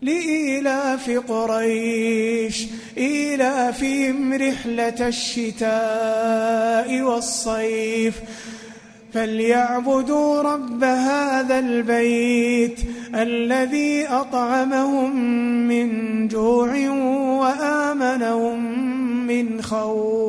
لإيلاف قريش إيلافهم رحلة الشتاء والصيف فليعبدوا رب هذا البيت الذي أطعمهم من جوع وآمنهم من خوف.